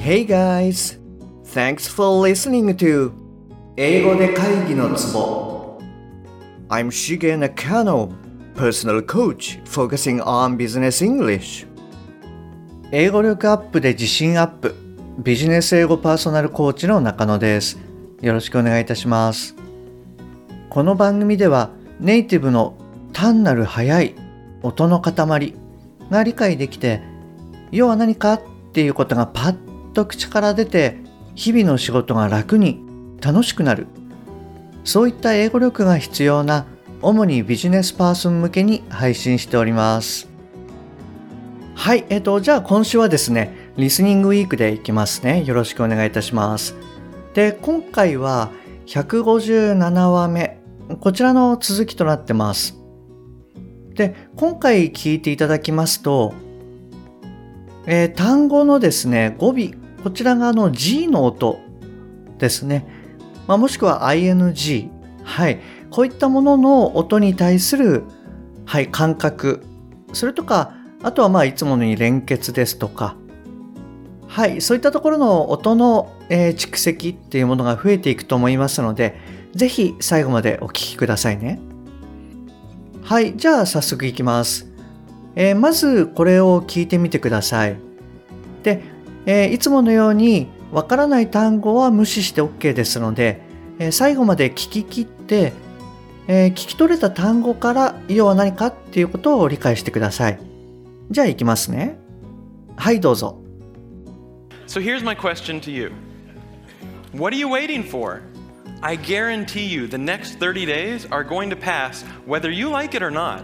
Hey guys! Thanks for listening to 英語で会議のツボ I'm Shige Nakano, personal coach focusing on business English 英語力アップで自信アップビジネス英語パーソナルコーチの中野です。よろしくお願いいたします。この番組ではネイティブの単なる速い音の塊が理解できて、要は何かっていうことがパッと口から出て、日々の仕事が楽に楽しくなる、そういった英語力が必要な主にビジネスパーソン向けに配信しております。はい、じゃあ今週はですね、リスニングウィークでいきますね。よろしくお願いいたします。で、今回は157話目、こちらの続きとなってます。で、今回聞いていただきますと、単語のですね、語尾、こちらがG の音ですね。もしくは ING。はい。こういったものの音に対する、はい、感覚。それとか、あとはいつものように連結ですとか、はい、そういったところの音の、蓄積っていうものが増えていくと思いますので、ぜひ最後までお聞きくださいね。はい、じゃあ早速いきます。まずこれを聞いてみてください。で、いつものようにわからない単語は無視して OK ですので、最後まで聞き切って、聞き取れた単語から要は何かっていうことを理解してください。じゃあいきますね。はい、どうぞ。 So here's my question to you. What are you waiting for? I guarantee you the next 30 days are going to pass whether you like it or not.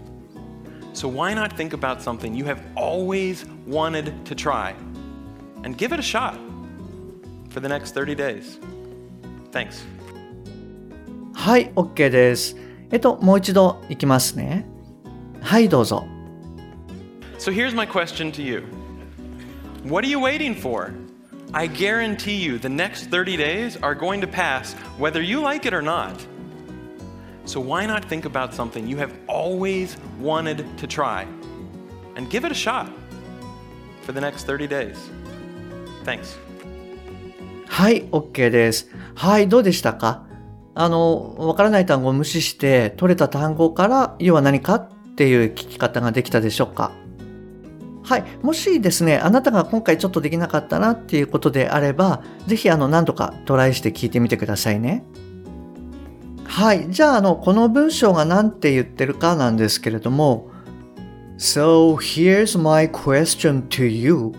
So why not think about something you have always wanted to try and give it a shot for the next 30 days? Thanks. はい、OK です。もう一度いきますね。はい、どうぞ。 So here's my question to you.What are you waiting for? I guarantee you the next 30 days are going to pass whether you like it or not. So why not think about something you have always wanted to try and give it a shot for the next 30 days? Thanks. はい、OK です。はい、どうでしたか？わからない単語を無視して取れた単語から要は何かっていう聞き方ができたでしょうか？はい。もしですね、あなたが今回ちょっとできなかったなっていうことであれば、ぜひ何度かトライして聞いてみてくださいね。はい。じゃあ、この文章が何て言ってるかなんですけれども、So here's my question to you.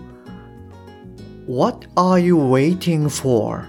What are you waiting for?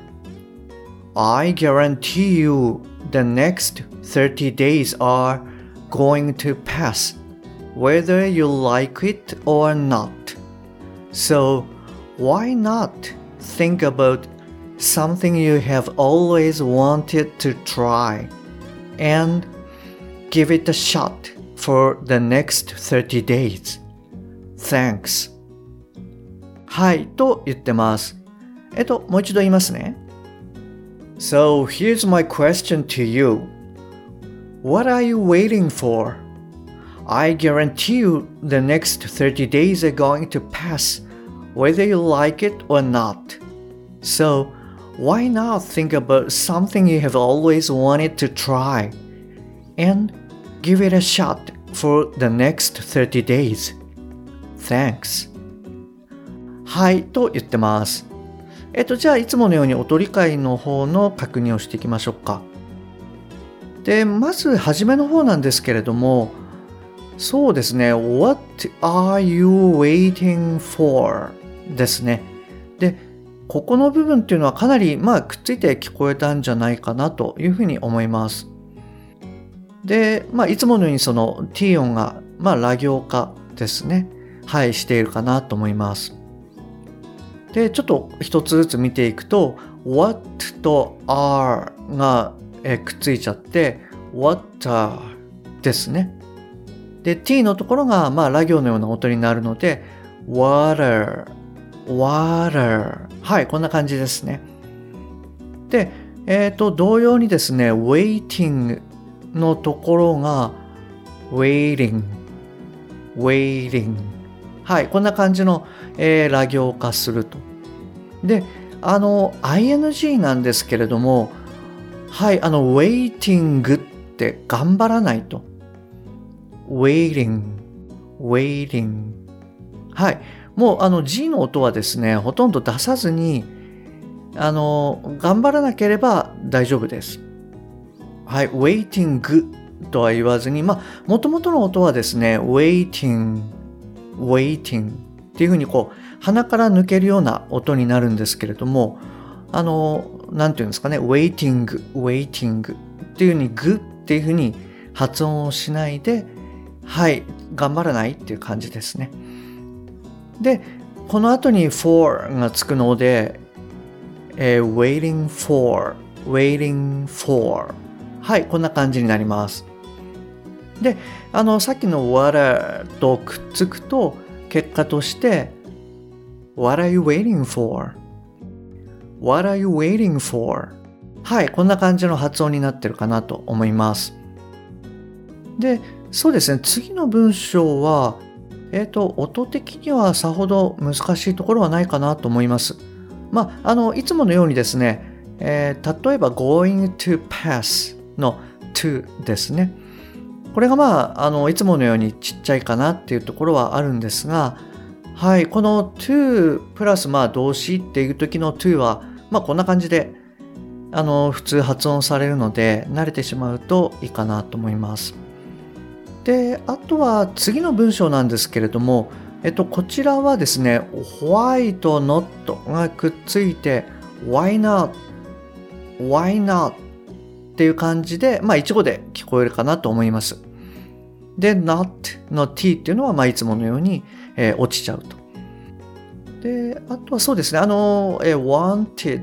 I guarantee you the next 30 days are going to pass.Whether you like it or not. So, why not think about something you have always wanted to try and give it a shot for the next 30 days? Thanks. はい、と言ってます。もう一度言いますね。So, here's my question to you. What are you waiting for?I guarantee you the next 30 days are going to pass, whether you like it or not. So, why not think about something you have always wanted to try and give it a shot for the next 30 days? Thanks. はい、と言ってます。じゃあいつものように音理解の方の確認をしていきましょうか。で、まず初めの方なんですけれども、そうですね。What are you waiting for? ですね。で、ここの部分っていうのはかなりくっついて聞こえたんじゃないかなというふうに思います。で、いつものようにその T 音がラ行化ですね。はい、しているかなと思います。で、ちょっと一つずつ見ていくと、What と are がくっついちゃって、Water ですね。で、t のところがラ行のような音になるので water はい、こんな感じですね。で、同様にですね waiting のところが waiting はい、こんな感じの、ラ行化すると。 で、ing なんですけれども、はい、waiting って頑張らないと。waiting。はい。もうG の音はですね、ほとんど出さずに、頑張らなければ大丈夫です。はい、waiting とは言わずに、元々の音はですね、waiting っていうふうに鼻から抜けるような音になるんですけれども、なんていうんですかね、waiting っていうふうにグっていうふうに発音をしないで、はい、頑張らないっていう感じですね。で、この後に for がつくので、waiting for はい、こんな感じになります。で、さっきの what とくっつくと、結果として、what are you waiting for? What are you waiting for? はい、こんな感じの発音になってるかなと思います。で、そうですね、次の文章は、音的にはさほど難しいところはないかなと思います。いつものようにですね、例えば going to pass の to ですね。これがいつものようにちっちゃいかなっていうところはあるんですが、はい、この to プラス動詞っていう時の to は、こんな感じで、普通発音されるので、慣れてしまうといいかなと思います。で、あとは次の文章なんですけれども、こちらはですね、why と not がくっついて、why not っていう感じで、一語で聞こえるかなと思います。で、not の t っていうのは、いつものように、落ちちゃうと。で、あとはそうですね、wanted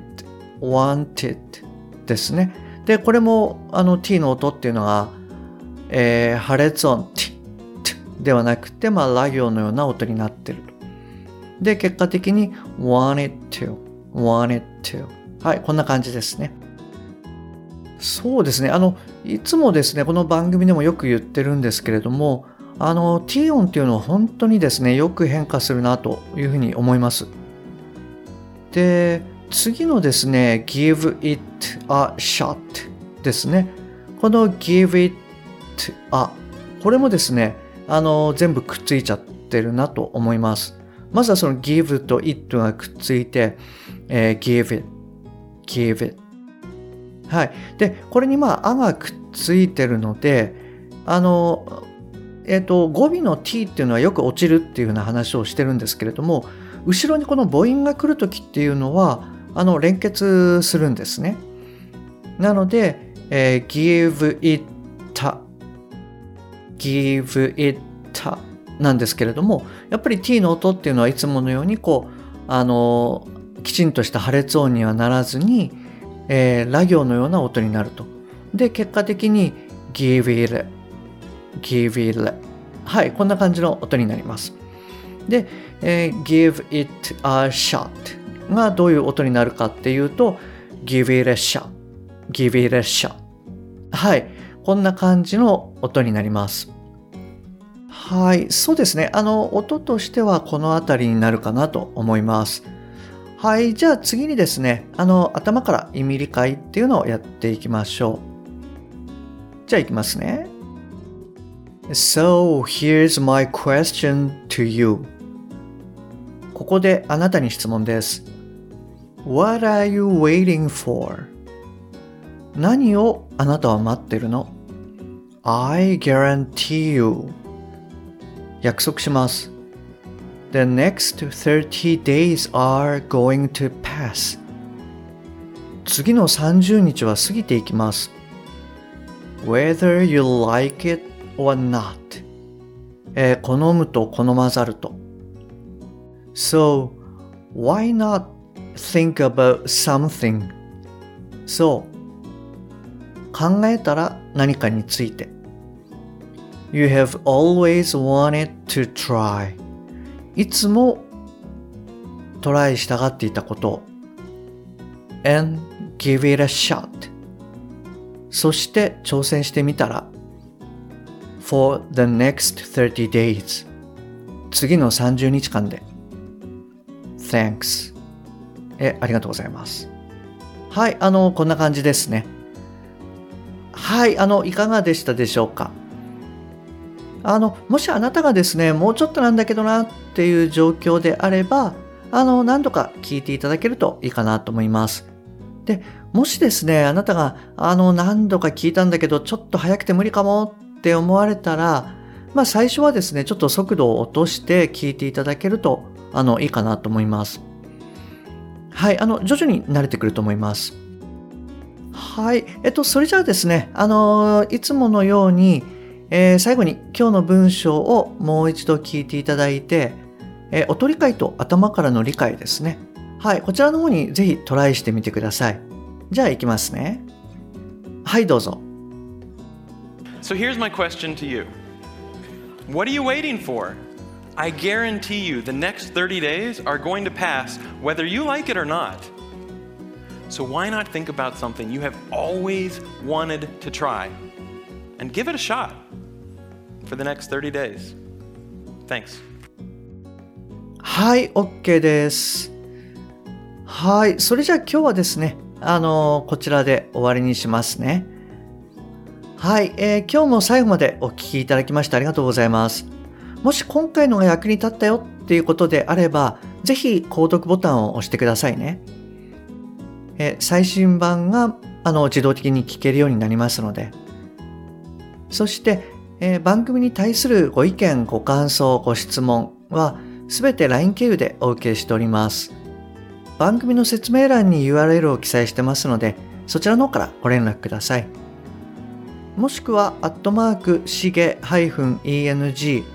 ですね。で、これも、t の音っていうのが、破裂音 t ではなくて、ラ行のような音になっていると。で、結果的に wanted to。はい、こんな感じですね。そうですね。いつもですね、この番組でもよく言ってるんですけれども、t 音っていうのは本当にですね、よく変化するなというふうに思います。で、次のですね、give it a shot ですね。この give it a、これもですね、全部くっついちゃってるなと思います。まずはその give と it がくっついて、give it。はい。で、これにあがくっついてるので、語尾の t っていうのはよく落ちるっていうような話をしてるんですけれども、後ろにこの母音が来るときっていうのは、連結するんですね。なので、give it なんですけれども、やっぱり t の音っていうのはいつものようにきちんとした破裂音にはならずに、ラ行のような音になると。で、結果的に give it。はい、こんな感じの音になります。で、give it a shot がどういう音になるかっていうと、give it a shot。はい、こんな感じの音になります。はい、そうですね。音としてはこのあたりになるかなと思います。はい、じゃあ次にですね、頭から意味理解っていうのをやっていきましょう。じゃあいきますね。So, here's my question to you. ここであなたに質問です。What are you waiting for? 何をあなたは待ってるの？ I guarantee you. 約束します。The next 30 days are going to pass. 次の30日は過ぎていきます。Whether you like it or not. 好むと好まざると。So, why not think about something? そう。考えたら何かについて。You have always wanted to try. いつもトライしたがっていたことを。And give it a shot. そして挑戦してみたら。For the next 30 days. 次の30日間で。Thanks. ありがとうございます。はい、こんな感じですね。はい、いかがでしたでしょうか。もしあなたがですね、もうちょっとなんだけどなっていう状況であれば、何度か聞いていただけるといいかなと思います。で、もしですね、あなたが、何度か聞いたんだけど、ちょっと早くて無理かもって思われたら、最初はですね、ちょっと速度を落として聞いていただけると、いいかなと思います。はい、徐々に慣れてくると思います。はい、それじゃあですね、いつものように、最後に今日の文章をもう一度聞いていただいて、音理解と頭からの理解ですね。はい、こちらの方にぜひトライしてみてください。じゃあ行きますね。はい、どうぞ。 So here's my question to you. What are you waiting for? I guarantee you the next 30 days are going to pass whether you like it or not. So why not think about something you have always wanted to try and give it a shot for the next 30 days? Thanks. はい、OK です。はい、それじゃあ今日はですね、こちらで終わりにしますね。はい、今日も最後までお聞きいただきましてありがとうございます。もし今回のが役に立ったよっていうことであれば、ぜひ購読ボタンを押してくださいね。最新版が自動的に聞けるようになりますので。そして、番組に対するご意見、ご感想、ご質問はすべて LINE 経由でお受けしております。番組の説明欄に URL を記載してますので、そちらの方からご連絡ください。もしくは、しげ-eng-coach、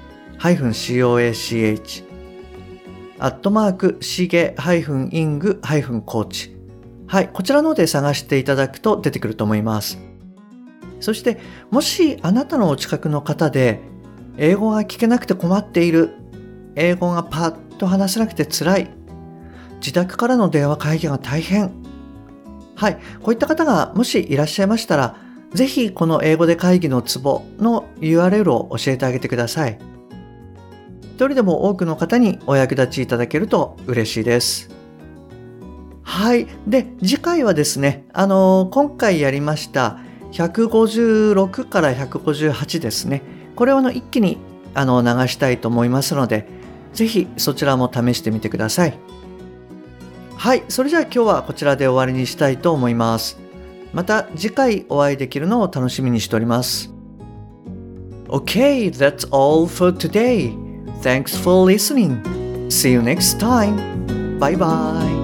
しげ-ing-coach。はい、こちらの方で探していただくと出てくると思います。そして、もしあなたのお近くの方で、英語が聞けなくて困っている、英語がパッと話せなくて辛い、自宅からの電話会議が大変。はい、こういった方がもしいらっしゃいましたら、ぜひこの英語で会議のツボの URL を教えてあげてください。一人でも多くの方にお役立ちいただけると嬉しいです。はい。で、次回はですね、今回やりました156から158ですね。これを一気に流したいと思いますので、ぜひそちらも試してみてください。はい。それじゃあ今日はこちらで終わりにしたいと思います。また次回お会いできるのを楽しみにしております。Okay, that's all for today. Thanks for listening. See you next time. Bye bye.